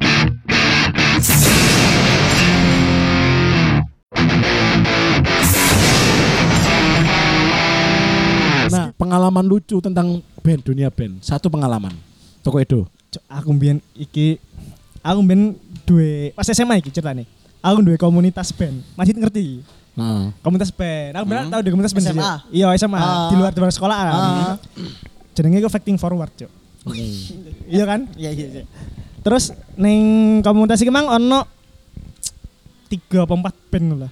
Nah, pengalaman lucu tentang band, dunia band. Satu pengalaman. Toko Edo. Aku mbiyen duwe pas SMA iki ceritane. Aku duwe komunitas band. Masih ngerti? Nah. Komunitas band. Aku benar tahu di komunitas band. SMA? Iya, SMA. Di luar sekolah kan. Jenenge iku Facting Forward, Cuk. Iya kan? Iya. Terus ning komunitas iki mang ono 3 apa 4 band lah.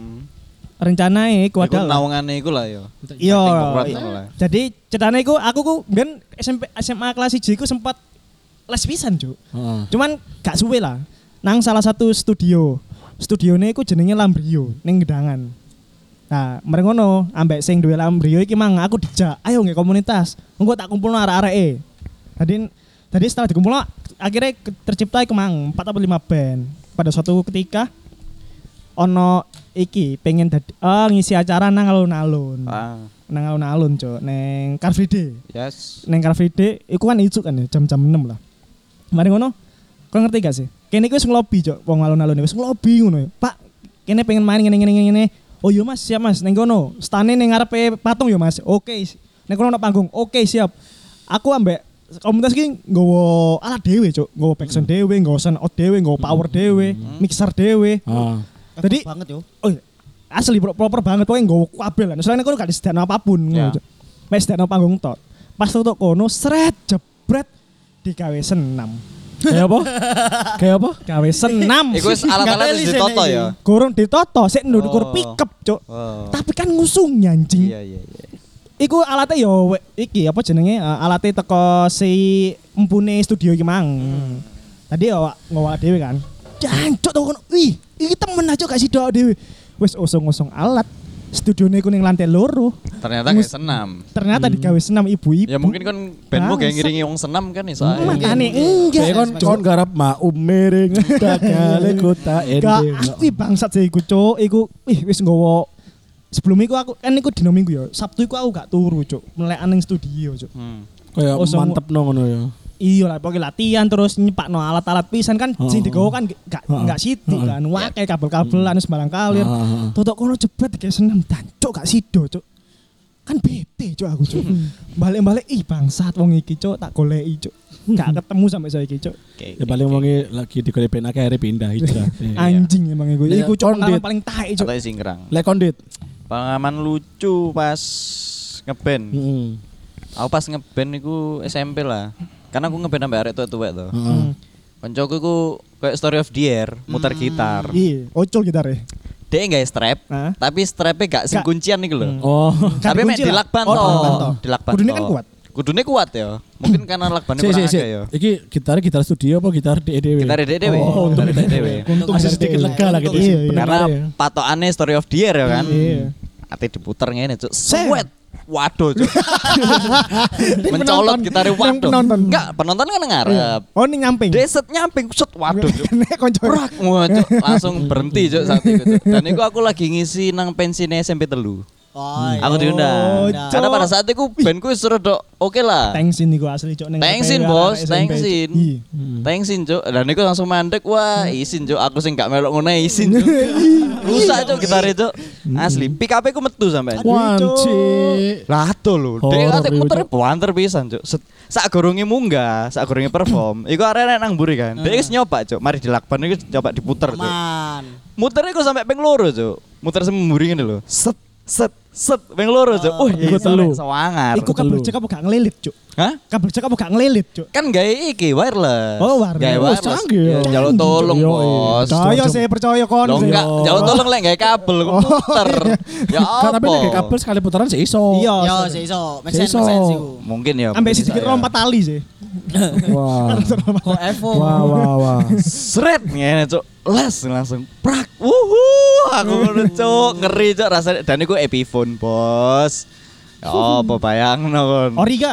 Rencanae iku Iku adalah naungane iku lah ya. iya. Acting lah. Jadi ceritane iku aku ku ben SMA kelas 1 iku sempat les pisan, Cuk. Cuman gak suwe lah. Nang salah satu studio. Studione iku jenenge Lambrio ning Gedangan. Nah, mereka ngono ambek sing duwe Lambrio iki mang aku dijak, ayo nge komunitas. Engko tak kumpulno arek-areke. Tadi setelah dikumpulno akhirnya tercipta iku mang 4 atau 5 band. Pada suatu ketika ono iki pengen ngisi acara nang alun-alun. Nang alun-alun, Cuk, neng Car Free Day. Yes. Neng Car Free Day iku kan ijuk kan ya, jam-jam 6 lah. Mari ngono. Kau ngerti gak sih? Kene iku wis ngelobi, Cuk, wong alun-alun wis ngelobi ngono. Pak, kene pengen main ngene. Oh iya Mas, siap Mas. Neng kono, stane ning ngarepe patung ya Mas. Oke. Neng kono ana panggung. Oke, siap. Aku ambek komunitas iki nggawa alat dhewe, Cuk. Nggawa backsound dhewe, nggawa sound out dhewe, nggawa power dhewe, mixer dhewe. Tadi banget yo. Oh iya. Asli proper banget pokoknya nggawa kabel kan. Soalnya kono gak disediakno apapun ngono, Cuk. Mes disediakno panggung tok. Pas tutuk kono sret jebret digawe senam. Kayak apa? Gawe senam. Iku wis alat-alat wis ditoto ya. Gorong ditoto, sik ndukur pickup, Cuk. Tapi kan ngusung anjing. Iya. Iku alatnya yo iki apa jenenge? Alatnya teko si empune studio iki mang. Tadi yo nggawa dhewe kan. Jancuk to kono. Wih, iki temen aja gak sido dhewe. Wis osong-osong alat. Studione ku ning lantai loro. Ternyata kayak senam. Ternyata digawe senam ibu-ibu. Ya mungkin kan bandmu kayak ngiringi wong senam kan iso ae. Makane enggak. Kon garap miring takale kota ending. Wih bangsat sih iku, Cuk. Iku wis nggawa sebelum iku aku kan iku dino Minggu ya. Sabtu iku aku gak turu, Cuk. Melekan ning studio, Cuk. Kayak mantepno ngono ya. Iya lah, pokoknya latihan terus nyepakno alat-alat pisan kan sing digowo kan gak sithik kan. Wae kabel-kabelan sembarang kalir. Totok kono jebret kayak seneng dancuk gak sido, Cuk. Kan bete, Cuk, aku, Cuk. Balik-balik bangsat wong iki, Cuk, tak goleki, Cuk. Gak ketemu sampai saiki, Cuk. Ya paling wonge lagi digolek ben akeh arep pindah hijrah. Anjing emang iku. Iku pengalaman paling taek, Cuk. Atau singkrang. Lek kondit. Pengalaman lucu pas ngeband. Aku pas ngeband iku SMP lah. Karena aku ngeband sampai arek tua-tua tuh. Koncoku iku kayak Story of the Year, muter gitar. Iya, ocol gitare. Dia enggak strap, tapi strapnya gak sing kuncian nih lho. Oh. Tapi mek dilakban toh. Dilakban. Kudune kan kuat. Kudune kuat ya. Mungkin karena lakbannya kurang akeh ya. Iki gitar studio apa gitar DEW? Gitar DEW. Oh, Gitar DEW. Masih sedikit lega lah gitu. Karena patokannya Story of the Year ya kan. Iya. Ate diputer ngene, Cuk. Sweat. Waduh, Cuk. Mencolot gitarnya waduh. Enggak, penonton kan ngarep. Oh, ini nyamping. Deset nyamping, set waduh, Cuk. Nek konco. Cuk, langsung berhenti, Cuk, saat itu, Cuk. Dan itu aku lagi ngisi nang pensinya SMP telu. Aku diundang. Karena pada saat itu bandku wis rada oke lah. Thanksin niku asli, Cuk. Thanksin, Bos, thanksin. Thanksin, Cuk. Dan niku langsung mandek, wah, izin, Cuk. Aku sing gak melok ngono izin, Cuk. Rusak, Cuk, gitare, Cuk. Asli, pick up-ku metu sampean. Wanci. Lah to lho, dhek ate muter banter pisan, Cuk. Sak goronge munggah, sak goronge perform. Iku arek nang mburi kan. Dhek wis nyoba, Cuk. Mari dilakban iku coba diputer, Cuk. Muternya iku sampai ping loro, Cuk. Muter semburi ngene lho. Set ping loro, Cuk. Iku telu. Sewangar. Iku kabel cek apa gak ngelilit, Cuk? Hah? Kabel cek apa gak ngelilit, Cuk? Kan gawe iki wireless. Oh, wireless. Gawe wireless. Canggih. Jaluk tolong, Bos. Saya saya percaya kon. Lo enggak, jaluk tolong lek gawe kabel muter. Ya apa? Tapi nek kabel sekali putaran sih iso. Iya, Yo, iso. Make sense iku. Mungkin ya. Ambek sedikit rompat tali sih. Wah. Kok Evo. Wah. Sret ngene, Cuk. Les langsung prak. Aku ngono, Cuk. Ngeri, Cuk, rasanya. Dan iku Epiphone, Bos. Ya apa bayangno kon. Ori gak?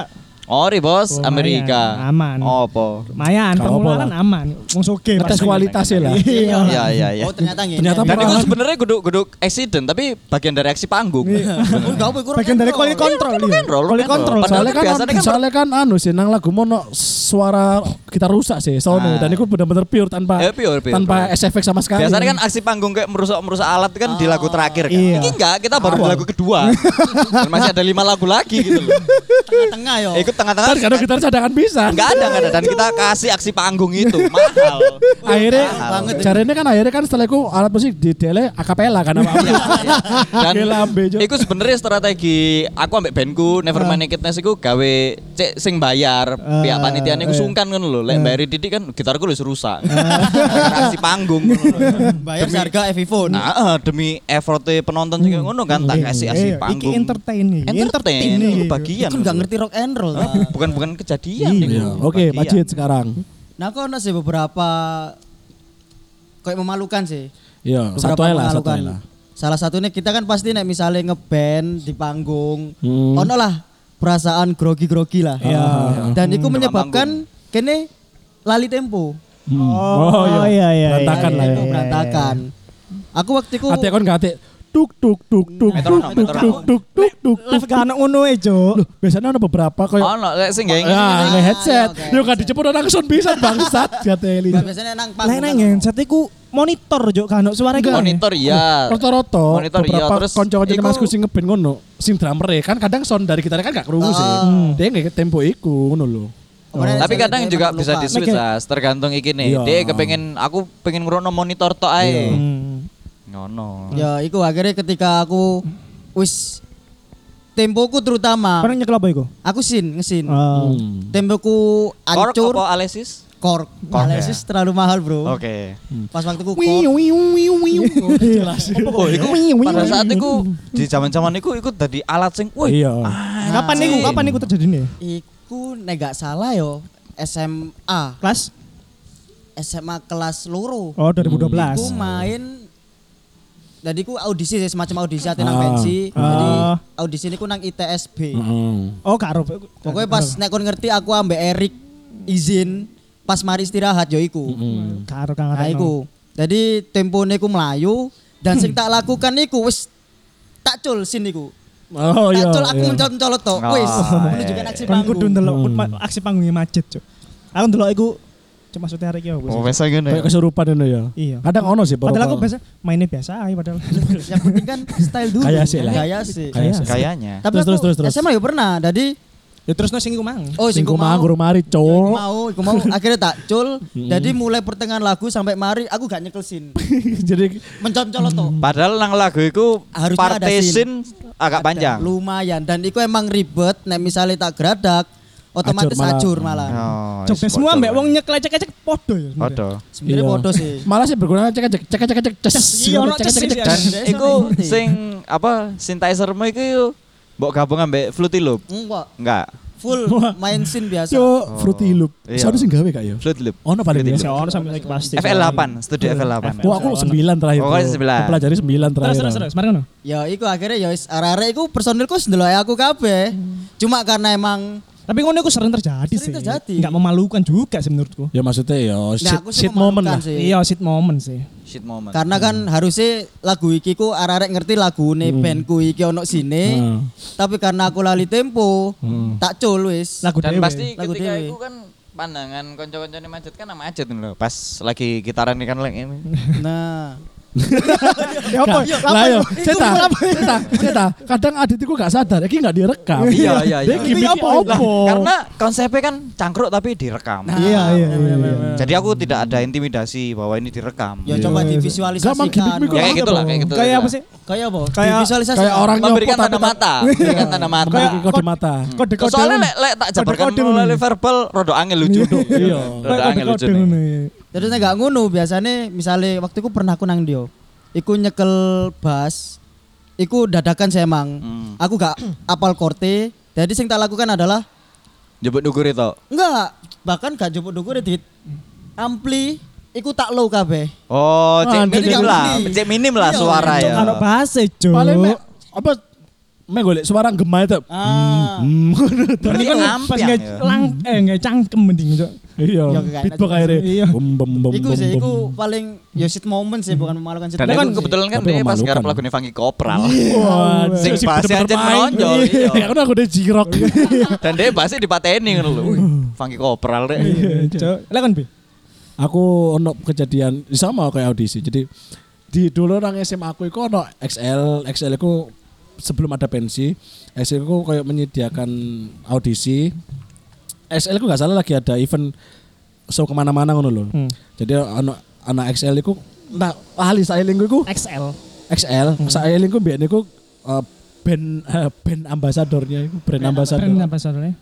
Ori bos, Oh, Amerika. aman. Opo? Lumayan, Gak pengeluaran apa-apa aman. Wong soge. Ngetes pasti. kualitasnya lah. Iya. Iya. Oh ternyata gini. Ternyata Dan itu Pengalaman. sebenarnya guduk accident tapi bagian dari aksi panggung. Oh, gak apa Bagian dari quality control. Quality control. Padahal Soalnya kan anu sih nang lagu mono suara kita rusak sih sono dan itu benar-benar pure tanpa Pure. tanpa efek sama sekali. Biasanya kan aksi panggung kayak merusak alat kan di lagu terakhir kan. Iya. Ini enggak, kita baru di lagu kedua. Dan masih ada 5 lagu lagi gitu loh. tengah-tengah yo. Ikut tengah-tengah. kan kadang gitar cadangan bisa. Enggak ada dan kita kasih aksi panggung itu mahal. Akhirnya banget. caranya kan akhirnya kan setelah itu alat musik di dele akapela kan apa. Dan Gila, ambe, Jo. itu sebenarnya strategi aku ambek bandku Nevermind Nakedness iku gawe cek sing bayar pihak panitia niku sungkan ngono lho. Lek bayari Didik kan gitarku wis rusak. Aksi panggung ngono lho. Bayar harga Eviphone. Nah, demi effortnya penonton sing ngono kan tak kasih aksi Iki panggung. entertain nih. Entertain itu bagian. Aku gak ngerti rock and roll. Bukan kejadian Iya. itu. Oke, Bagian. Majid sekarang. Nah, aku ada sih beberapa kayak memalukan sih. Iya, Beberapa satu aja lah, satu memalukan. aja lah. Salah satunya kita kan pasti nek misalnya ngeband di panggung, ono lah perasaan grogi-grogi lah. Iya. Dan itu menyebabkan kene lali tempo. Oh iya. Berantakan lah ya. Tempo berantakan. Aku waktu itu Ate kon gak ate tuk tuk tuk tuk Metronom, tuk tuk tuk tuk tuk. Live gak ana ngono e, Cuk. Loh, biasanya ada beberapa koyo Ono lek sing gawe ya, nge headset. oke. Yo gak dicepot orang sound bisa bangsat gateli. biasanya nang Lah panggung. nang headset iku monitor, Cuk, kan ono suara iku. monitor iya. Rata-rata Monitor, iya, beberapa terus kanca-kanca iku- Masku sing ngeband ngono, sing drummer kan kadang sound dari gitarnya kan gak krungu sih. Dia nggak tempo iku ngono lho. Kemarin Tapi saya- kadang saya juga lupa. bisa di switch lah, tergantung iki nih. Iya. Dia aku pengen ngrono monitor tok ae. Hmm. Ngono. Ya, iku akhirnya ketika aku wis tempoku terutama Pernah nyekel apa iku? aku ngesin. Oh. Tempoku Kork hancur. apa Alesis? Kork. Kork, Analisis terlalu mahal, Bro. Oke. Pas waktu ku Wiu kork. wiu wiu wiu. Jelas. Oh, iku pada saat iku di zaman-zaman iku tadi alat sing wih. Iya. Kapan iku terjadi nih? Iku nek gak salah yo SMA. Kelas? SMA kelas loro. Oh, 2012. Aku main jadi ku audisi sih, semacam audisi ati nang Ah. pensi. Ah. Jadi audisi niku nang ITSB. Oh, karo. Pokoknya pas nek kon ngerti aku ambek Erik izin pas mari istirahat yo iku. Karo Kang Nah Retno. iku. Jadi tempone ku melayu dan sing tak lakukan iku wis tak cul sin iku. Oh iya. Tak cul aku iya. mencolot tok. Oh, Wis iya. menunjukkan aksi Kan kudu panggung. ndelok aksi panggungnya Majid, Cuk. Aku ndelok iku cuma maksudnya hari iki apa sih? Oh, biasa ngene. Kayak kesurupan itu ya. Iya. Kadang ono sih Padahal aku beberapa. biasa mainnya biasa aja padahal. Yang penting kan style dulu. Gaya sih lah. Gaya sih. Gaya sih. Kayaknya. Tapi Terus, aku terus. SMA ya pernah. Jadi Ya terus sing iku mang. oh Sing ku mau guru mari, Iku cowok. mau akhirnya tak cul. Jadi mulai pertengahan lagu sampai mari aku gak nyekel sin. Jadi Mencolot toh. Padahal nang lagu iku Harusnya ada partition agak panjang. Lumayan dan itu emang ribet nek misalnya tak geradak otomatis Acur acur malah. Oh, Jogja semua mbak wong nyekel ecek-ecek podo ya. sebenarnya. Podo. Sebenarnya Iya. bodoh sih. malah sih berguna cek ces. Iya, ono ces sih, Dan Biasa iku ngerti. sing apa synthesizer-mu iku mbok gabung ambek Fruity Loop. Enggak. Full main scene biasa. Yo, Fruity Loop. Iya. Soalnya sing gawe kak yo. Fruity Loop. Ono paling Fruity biasa. Masih ono sampai saiki pasti. FL8, studio FL8. Wah, aku 9 terakhir. Pokoknya bro. 9. Aku pelajari 9 terakhir. Terus mari ngono. Ya iku akhirnya ya wis arek-arek iku personilku wis ndelok aku kabeh. Cuma karena emang Tapi ngono iku sering terjadi sih. Sering terjadi. Enggak memalukan juga sih menurutku. Ya maksudnya ya aku sih shit moment lah. memalukan sih. Iya, shit moment sih. Shit moment. Karena kan harusnya lagu iki ku arek-arek ngerti lagune bandku iki ono sine. Tapi karena aku lali tempo, tak cul wis. Lagu Dan dhewe. pasti Lagu ketika dhewe. itu kan pandangan konco-koncone Majid kan sama Majid lho. Pas lagi gitaran ini kan lagi ini. Nah, Ya apa? Lah yo, ceta. Kadang Adit iku gak sadar, iki gak direkam. Iya. Dia gimmick apa? apa? Karena konsepnya kan cangkruk tapi direkam. Iya. Jadi aku tidak ada intimidasi bahwa ini direkam. ya Iya. coba Gak, Mang, divisualisasikan. gimmick-gimmick Ya kayak gitu lah, kayak gitu. Kayak apa sih? Kayak apa? Kayak- Divisualisasi. Kayak orang Memberikan nyopot tanda tapi mata, memberikan tanda mata. Kayak kode mata. Kode-kode. Soalnya lek tak jabarkan Kode-kode melalui ngono. verbal rodo angel lucu. Iya. Rodo angel lucu. Kode-kode ngono. Terus nek gak ngono biasanya misalnya waktu itu pernah aku nang dia. Iku nyekel bass. Iku dadakan sih emang. Aku gak apal korte. Jadi sing tak lakukan adalah Jebut dukur itu. enggak, bahkan gak jupuk dukur dit. Ampli iku tak low kabeh. Oh, cek Ah, minim jadi lah, gak cek minim lah Iya, suara Cuk, ya. karo bahasa, Cuk. Paling mek apa golek suara gema itu. Berarti kan Pas ampiang nggak ya. nggak cangkem mending Cuk. Iya, Ya, kayak beatbox gitu. akhirnya. Iya. Iku sih, iku paling ya shit moment sih, bukan memalukan shit Dan moment. itu kebetulan kan Tapi dia pas memalukan. garap lagunya Funky Kopral. Wah, Sing bassnya aja menonjol. Ya Iya. kan aku udah jirok. Dan dia bassnya dipateni ngono lho. Wih, Funky Kopral deh. Cuk. Lah kan Bi. Aku ono kejadian sama kayak audisi. Jadi di dulu orang SMA aku itu ono XL itu sebelum ada pensi, XL itu kayak menyediakan audisi. XL itu nggak salah lagi ada event show kemana-mana ngono loh. Jadi ono anak XL itu nah ahli styling itu XL. styling itu biar niku band ambasadornya itu brand ambasadornya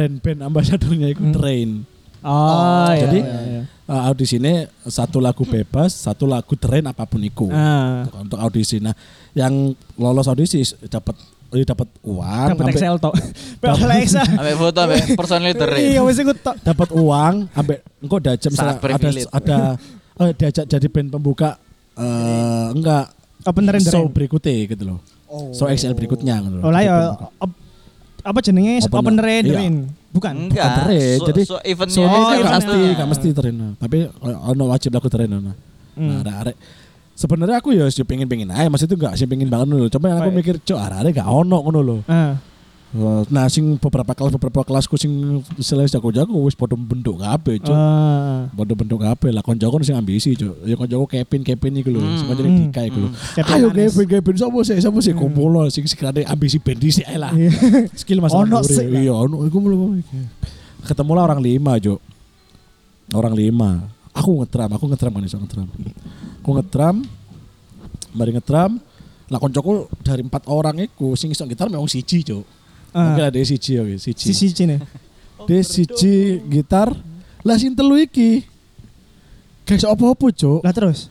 itu Train. Oh, iya. Jadi iya. audisinya satu lagu bebas, satu lagu Train apapun itu. Untuk audisi. Nah, yang lolos audisi dapat uang, dapat XL tok. Oleh XL. Ambek foto ambek personil Train. Iya wis iku tok. dapat uang, ambek engko ada jam Sangat privilege. ada diajak jadi band pembuka enggak Open render. show berikutnya gitu loh. Show XL berikutnya gitu loh. Oh lah ya apa jenenge Open- open render. iya. Bukan. Enggak. Train. Jadi eventnya Soalnya Oh, kan iya, gak mesti Train. Tapi ono wajib lagu Train. Nah, arek sebenarnya aku ya sih pengen aja, maksud itu enggak sih pengen banget dulu. Cuma aku mikir, cok arek gak ono ngono lho. Nah, sing beberapa kelasku sing istilahnya jago-jago wis padha bentuk kabeh, cok. Padha bentuk kabeh lah koncoku sing ambisi, cok. Ya koncoku Kevin iku lho, sing koncone Dika iku lho. Ayo Kevin sapa sih kumpul sing sekirane ambisi band dhisik ae lah. Skill masalah Ono sih lah. Iya, ono iku lho. Ketemu lah orang 5, cok. Orang 5. Aku ngetram kan iso ngetram. Aku ngetram. Mari ngetram. Lah koncoku dari 4 orang iku sing iso gitar memang siji, cok. Mungkin ada siji ya, Sisi cine. Dia siji gitar, lah sing telu iki. Gak iso apa-apa, cok. Lah terus.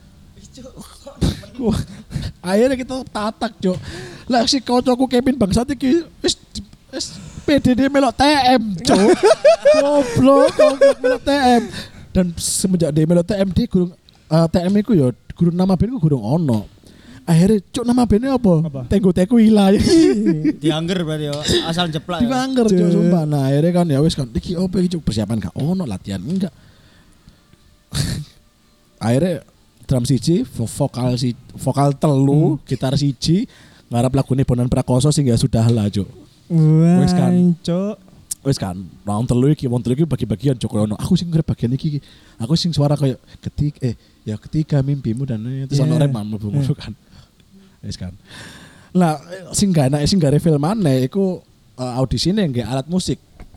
Wah, akhirnya kita tatak, cok. Lah si koncoku Kevin bangsat iki wis PDD melok TM, cok. Goblok melok TM. Dan semenjak dia melok TM dia gurung TM iku ya gurung nama band ku gurung ono. Akhirnya cok nama bandnya apa? Tenggo-tenggo hilang. Diangger berarti ya, asal jeplak. Diangger cok sumpah. Nah akhirnya kan ya wis kan iki opo iki cok persiapan gak ono latihan enggak. Akhirnya drum siji, vokal telu, gitar siji, ngarap lagune Bondan Prakoso sing ya sudah lah cok. Wis kan. Cuk. Wis kan, wong telu iki bagi-bagian cok ono. Aku sing ngarep bagian iki. Aku sing suara kayak ketika mimpimu dan terus ono rem mlebu kan. Wis kan. Lah sing gak enak sing gak reveal maneh iku audisine nggih alat musik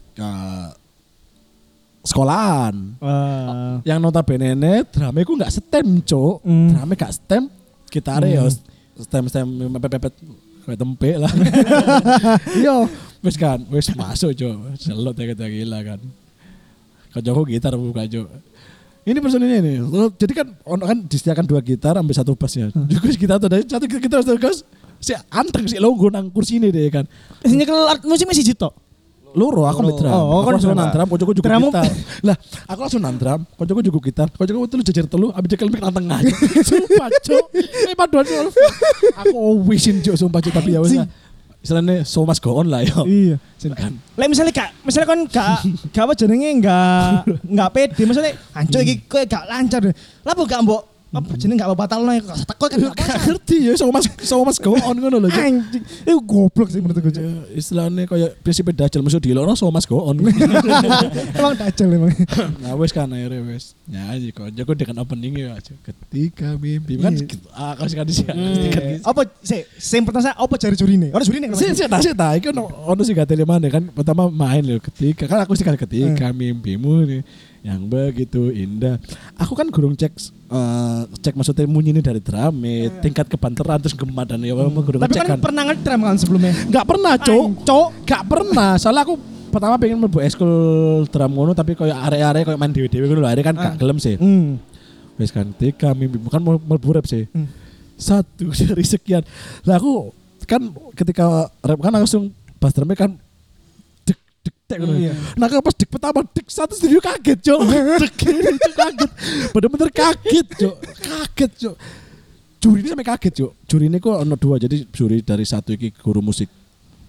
sekolahan. Yang notabene drama iku gak stem, Cuk. Drama gak stem, gitare ya stem mepet-mepet kayak tempe lah. Yo, wis kan, wis masuk, Cuk. Selot ya gila kan. Kancaku gitar buka, Cuk. Ini personilnya ini. Jadi kan disediakan 2 gitar ambil 1 bass ya. Juga kita tuh dari 1 gitar 1 bass si anteng si longgo nang kursi ini deh kan. Sini kalau art musik masih jitok. Loro aku ambil drum. Oh, Aku langsung nang drum, koncoku juga Drum gitar. Lah, aku langsung nang drum, koncoku juga gitar. Koncoku telu jajar telu, ambil cekel mic nang tengah. Sumpah, Cuk. Ini paduan Cuk. Aku wisin Cuk sumpah Cuk tapi ya wis lah. Istilahnya so must go on lah ya. Iya. Kan. Lah misalnya kan gak apa jenenge enggak pede maksudnya hancur iki kowe gak lancar. Lah apa gak mbok apa jenenge gak batalno teko kan Gak ngerti ya so must go on ngono lho. anjing. Itu goblok sih menurut gue. Istilahnya kayak prinsip dajal musuh dilokno so must go on. Emang dajal emang. Nah wes kan akhirnya wes nyanyi kok jago dengan opening ya ketika mimpi kan aku sih kan sih Apa sing pertama apa jari jurine? Ora jurine kan. sih iki ono sih gak mana kan pertama main loh ketika kan aku sih kan ketika mimpimu nih yang begitu indah aku kan gurung cek maksudnya munyi ini dari drama tingkat kebanteran terus gemah dan ya gurung Tapi cek kan pernah ngedram kan sebelumnya. nggak pernah cok gak pernah soalnya aku pertama pengen mlebu eskul drum ngono tapi kayak area-area kayak main dewe-dewe ngono lho akhirnya kan gak gelem sih. Wes kan ketika mimpi bukan mlebu rap sih. 1 dari sekian. Lah aku kan ketika rap kan langsung bass drumnya kan dek tek ngono. Nah pas dek pertama dek 1 studio kaget, Cok. Kaget. Bener-bener kaget, Cok. Kaget, Cok. Juri ini sampai kaget, Cok. Juri ini kok ono 2 jadi juri dari 1 iki guru musik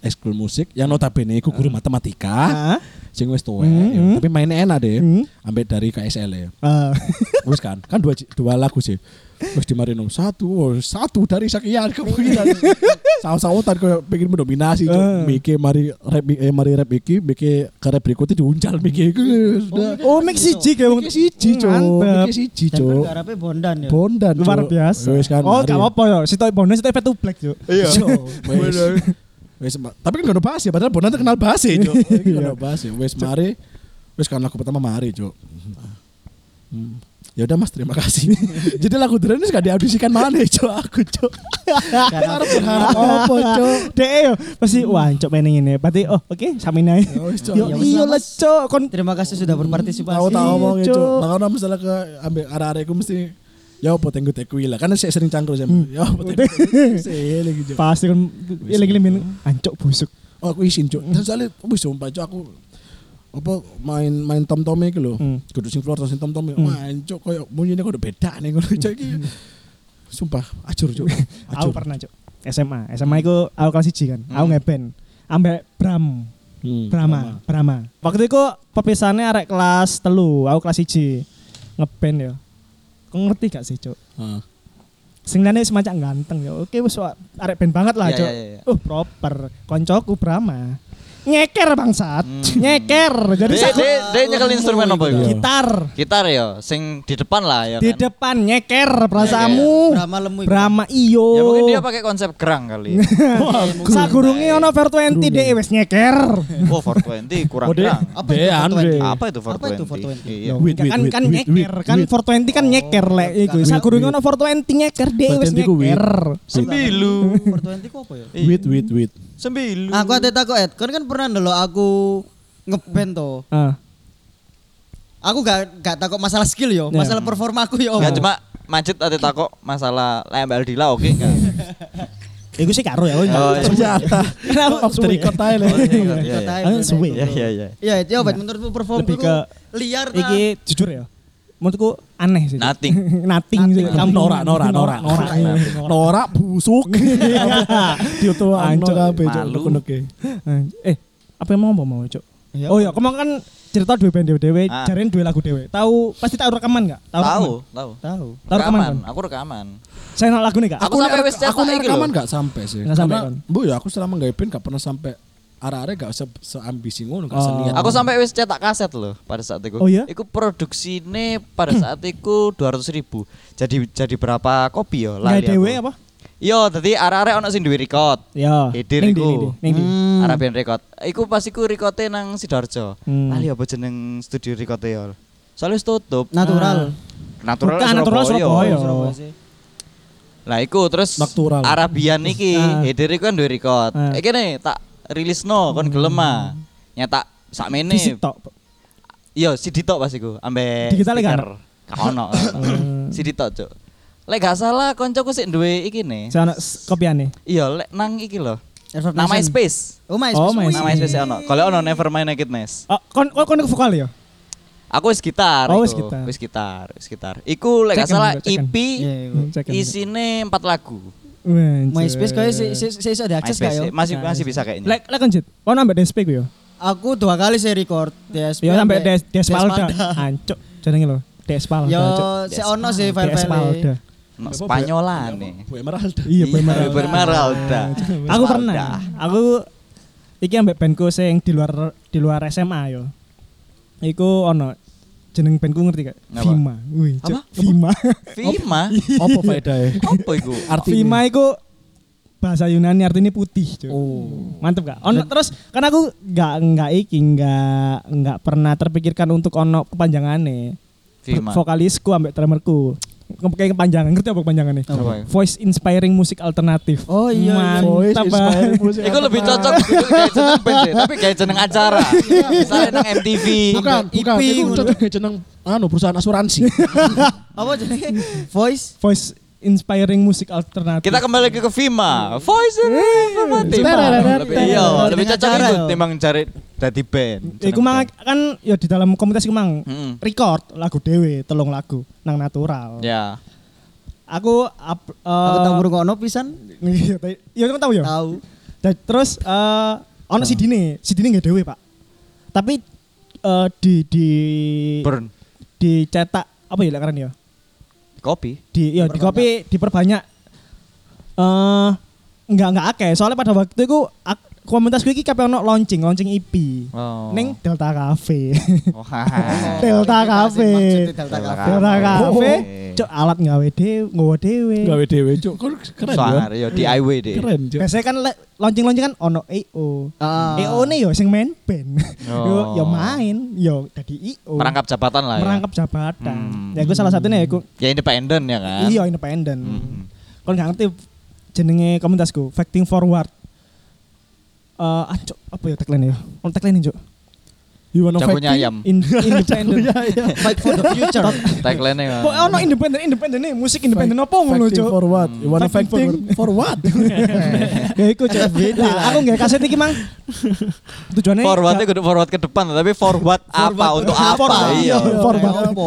ekskul musik yang notabene iku guru matematika. Sing wis tuwek, tapi mainnya enak deh. Ambek dari KSL ya. Wis kan dua lagu sih. Wis dimarino satu dari sekian kemungkinan. Saut-sautan koyo pengen mendominasi cuk. Miki mari rap iki, Miki ke rap berikutnya diuncal Miki iku. Oh, mix siji ge wong siji cuk. Miki siji cuk. Garape Bondan ya. Bondan luar biasa. Wis kan. Oh, gak apa-apa ya. Sitok Bondan sitok Fat Black cuk. Iya. Wes, tapi kan gak ada bahas ya, padahal Bondan terkenal bahas ya, Cuk. Gak ada bahas ya. Wes mari, wes kan lagu pertama mari, Cuk. Ya udah Mas, terima kasih. Jadi lagu Dren ini gak diaudisikan mana, Cuk, aku, Cuk. Karena berharap apa, Cuk. Dek yo pasti wah, Cuk pengen ngene. Berarti oke, samin ae. Yo iya lah, Cuk. Kon Terima kasih sudah berpartisipasi. Tahu ngomong, Cuk. Makanya misalnya ke ambek arek-arekku mesti ya apa tenggo-tenggo lah kan saya sering cangkruk ya. Ya apa tenggo lagi Cuk. Pasti kan lagi ancok busuk. Oh aku isin Cuk. Dan soalnya wis sumpah Cuk aku apa main tom-tome iki lho. Kudu sing floor sing tom-tome. Wah Cuk koyo munyine kok beda nih ngono Cuk iki. Sumpah acur Cuk. Aku pernah Cuk. SMA iku aku kelas 1 kan. Aku ngeband ambek Brahma. Waktu itu perpisahannya arek kelas 3, aku kelas 1 ngeband ya. Kau ngerti gak sih, Cuk? Sing lane semacam ganteng ya. Oke wis arek band banget lah, Cuk. Proper. Koncoku Brahma. Nyeker bangsat. Nyeker. Jadi dia nyekel instrumen apa itu? Gitar ya, sing di depan lah ya kan. Di depan nyeker perasamu. Brahma lemu. Brahma iyo. Ya mungkin dia pakai konsep gerang kali. Sagurunge ono 420 dhewe wis nyeker. Oh 420 kurang gerang. Apa itu 420? Kan nyeker, kan 420 kan nyeker lek iku. Sagurunge ono 420 nyeker dhewe wis nyeker. Sembilu. 420 ku apa ya? Wit. Sembilu. Aku ate takok kan pernah ndelok aku ngeband to. Aku gak takok masalah skill yo, masalah performa aku yo. Enggak cuma macet ate takok masalah lembel dila oke enggak. Iku sih karo ya. Ternyata. Off the record ae lho. Suwe. Iya. Iya, coba menurutmu performku liar ta? Iki jujur ya. Menurutku aneh sih. Nothing sih. Kamu Nora busuk. Dioto ancok kabeh Cuk. Apa yang mau Cuk? Oh ya, kemarin kan cerita dua band dewe, jaren dua lagu dewe. Tahu pasti tahu rekaman enggak? Tahu. Tahu rekaman kan? Aku rekaman. Saya nolak lagu nih Kak. Aku sampai wis cetak iki lho. Rekaman enggak sampai sih. Enggak sampai kan. Bu ya aku selama nggawe band enggak pernah sampai arek-arek gak seambisi ngono gak seniat. Aku sampai wis cetak kaset loh pada saat itu. Oh iya? Iku produksine pada saat itu 200.000. Jadi berapa kopi yo lali. Nggak dewe apa? Yo, dadi arek-arek ono sing duwe record. Yo. Header iku. Ning Arabian record. Iku pas iku rekote nang Sidoarjo. Lali apa jeneng studio rekote yo. Soalnya wis tutup. Natural Surabaya. Lah iku terus Arabian iki header iku kan duwe record. Iki nih tak rilisno kon gelem ah. Nyetak sakmene. Iya, CD tok pas iku ambek digital kan? Gak ono. CD tok, Cuk. Lek gak salah koncoku sik duwe iki nih. Sono kopiane. Iya, lek nang iki lho. Nang MySpace. Oh, MySpace. Nang MySpace ono. Kalau ono Nevermind Nakedness. Oh, kon vokal ya? Aku wis gitar. Oh, wis gitar. Iku lek gak salah EP isine 4 lagu. MySpace kayak saya iso diakses gak yo? Masih bisa kayaknya. Lek konjit. Ono ambek DSP ku yo. Aku 2 kali saya record DSP. Ya sampai Despalda. Ancuk jenenge lho. Despalda. Yo, si ono sih file-file. Spanyolan nih. Bu Emeralda. Iya, Bu Emeralda. Aku pernah. Aku iki ambek bandku sing di luar SMA yo. Iku ono jeneng bandku ngerti gak? Vima. Wih, Vima. Apa faedahe? Apa iku? Vima iku bahasa Yunani artinya putih. Oh. Mantep gak? Ono terus kan aku enggak pernah terpikirkan untuk ono kepanjangane. Vokalisku ambek drummerku. Kayak kepanjangan, ngerti apa kepanjangannya? Voice Inspiring Music Alternatif. Oh iya, Voice Inspiring Music. Iku lebih cocok kayak jeneng band sih, tapi kayak jeneng acara. Misalnya nang MTV. Bukan, itu cocok kayak jeneng perusahaan asuransi. Apa jenenge? Voice Inspiring Music Alternatif. Kita kembali lagi ke Vima. Voice Alternatif. Lebih cocok itu timbang cari dadi band. Iku mang kan ya di dalam komunitas iku mang record lagu dhewe 3 lagu nang Natural. Ya. Aku tahu ngrungokno pisan. Iya kan tahu ya? Tahu. Terus ono CD-ne nggak dhewe, Pak. Tapi di Burn. dicetak apa ya lekaran ya? Kopi. Di kopi diperbanyak. Enggak akeh. Soalnya pada waktu itu komunitasku iki kabeh ono launching EP. Ning Delta Cafe. Delta Cafe. Delta Cafe. Cuk alat nggawe dhewe. Gawe dhewe cuk. Keren Soalnya ya DIY deh. Keren cuk. Biasanya kan launching kan ono EO. EO ne yo sing main band. Yo main, yo dadi EO. Merangkap jabatan lah ya. Merangkap jabatan. Ya iku salah satunya ya iku. Ya independen ya kan. Iya independen. Kon gak ngerti jenenge komunitasku, Fighting Forward. Cuk, apa ya tagline ya? Ono tagline cuk. You wanna Jagonya fight ayam. Independen. Fight for the future. Tagline-nya. Kok ono independen nih, musik independen apa ngono Fighting cuk? for what? You wanna Fighting fighting for what? Ya iku cuk. Aku nggak kaset iki mang. Tujuannya Forwardnya kudu forward ke depan tapi forward apa untuk apa? Iya. Forward apa?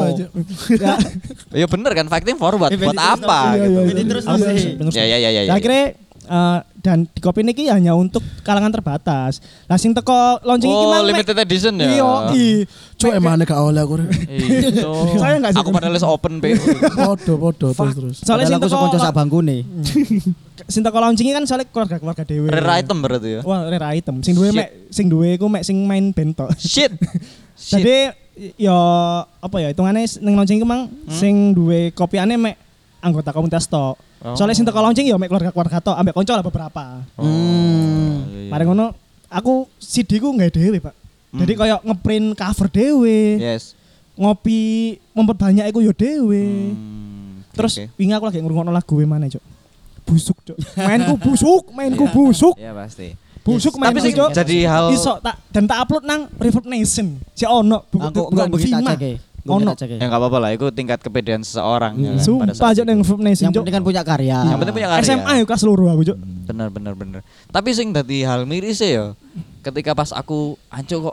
Iya bener kan fighting forward buat apa gitu. Ini terus sih. Ya. Akhirnya dan di kopi ini hanya untuk kalangan terbatas. Lah sing teko launching iki mang limited edition ya. Iya, Cuk emane gak oleh aku. Itu. Saya enggak sih. Aku padahal open pe. Podo terus. Soalnya sing Aku teko kanca sak bangkune. sing teko launching kan soalnya keluarga dhewe. Rare item berarti ya. Wah, rare item. Sing duwe iku mek sing main band tok. Shit. Jadi ya apa ya hitungane ning launching iki mang sing duwe kopiane mek anggota komunitas tok. Soalnya sing teko launching ya mek keluarga tok ambek kanca lah beberapa. Mari ngono aku CD ku nggak dhewe, Pak. Jadi kayak ngeprint cover dhewe. Yes. Ngopi memperbanyak iku ya dhewe. Terus wingi aku lagi ngrungokno lagu mana, Cuk? Busuk, Cuk. Mainku busuk. Iya pasti. Busuk main Tapi sih Cuk. jadi hal Iso tak upload nang Reverb Nation. Si ono Aku begitu Vima. cek. Ono. ya enggak apa-apa lah, itu tingkat kepedean seseorang ya kan, pada Sumpah saat aja itu. nang Reverb Nation, Yang Cuk. penting kan punya karya. Yang penting punya karya. SMA ya kelas loro aku, Cuk. Bener. Tapi sing dadi hal miris ya ketika pas aku kok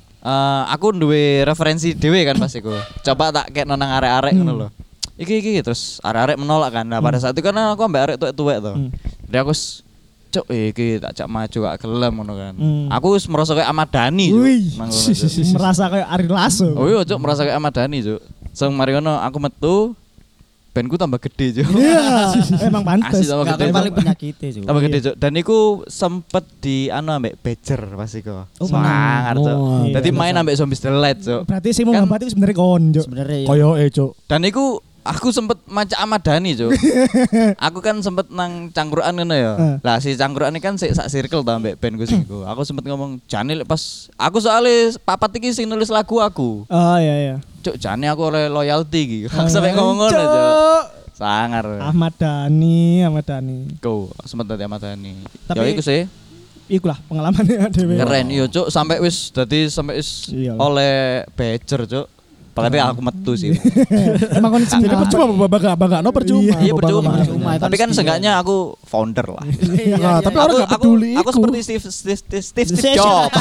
aku duwe referensi dhewe kan pas iku. Coba tak kek nang arek-arek ngono lho. Iki terus arek-arek menolak kan. Nah, pada saat itu kan aku ambek arek tuwek-tuwek to. Jadi aku cuk iki tak maju gak gelem ngono kan. Aku wis merasa kayak Ahmad Dhani Cuk. Wih, Nang ngono, Cuk. merasa kayak Ari Lasso. Oh iya cuk merasa kayak Ahmad Dhani Cuk. Sing mari ngono aku metu bandku tambah gede Cuk. Iya, emang pantes. Asli tambah Gak gede. kan paling penyakitnya juga. Tambah gede Cuk. Dan iku sempet di ambek Badger pas iku. Semangat Cuk. Iya, Dadi main ambek Zombies The Light Cuk. Berarti sih mau Kan- ngambati sebenarnya kon, Cuk. Sebenarnya ya. Koyoke cuk. Dan iku aku sempet maca Ahmad Dhani Cuk. Aku kan sempet nang cangkruan ngono ya. Lah si cangkruan ini kan sak circle ta ambek bandku sing iku. Aku sempet ngomong Jani pas aku soalnya papat iki sing nulis lagu aku. Oh iya. Cuk Jani aku oleh loyalty iki. Aku sampe ngomong ngono Cuk. Sangar. Ahmad Dhani. Go sempet dadi Ahmad Dhani. Tapi- Ya iku sih. Iku lah pengalamannya dhewe. Keren iya Cuk sampai wis dadi sampai wis Iya. oleh Badger Cuk. Berarti aku metu sih. Emang kon Jadi percuma bangga no percuma. Iya percuma. Percuma, Tapi kan kan seenggaknya aku founder lah. Nah, tapi orang gak peduli Aku iku. seperti Steve Jobs.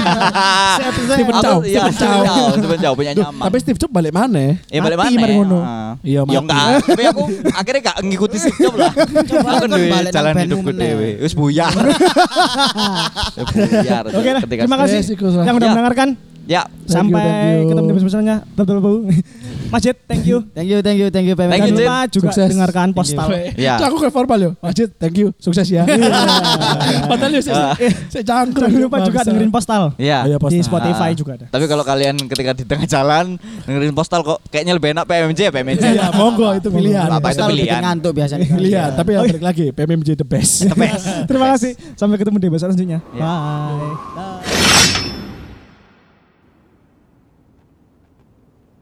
Stephen Chow. Iya, Stephen Chow punya nama. Tapi Steve Jobs balik mana? Ya balik mati mana? mari ngono. Iya, Ya mati. enggak, tapi aku akhirnya gak ngikuti Steve Jobs lah. Aku kan duwe balik nang jalan bandmu hidupku meneh. dhewe. Wis buyar. Buyar. Oke lah, ketika terima kasih Yes, iku lah. yang udah Ya. mendengarkan. Ya, Thank you, Sampai thank you. ketemu di episode-nya. Betul. Majid, thank you. Thank you PMJ. Thank you, Jangan Jid. lupa juga Sukses. dengarkan postal. Ya. Cuk, aku kayak formal yo. Majid, thank you. Sukses ya. Padahal yo saya cangkruk. Jangan lupa juga dengerin postal. ya. Ayo, Di postal. Spotify juga ada. Tapi kalau kalian ketika di tengah jalan dengerin postal kok kayaknya lebih enak PMJ ya PMJ. Iya, monggo itu pilihan. Apa itu Postal bikin pilihan? ngantuk biasanya. Pilihan, tapi ya balik lagi PMMJ the best. Terima kasih. Sampai ketemu di episode selanjutnya. Ya. Bye.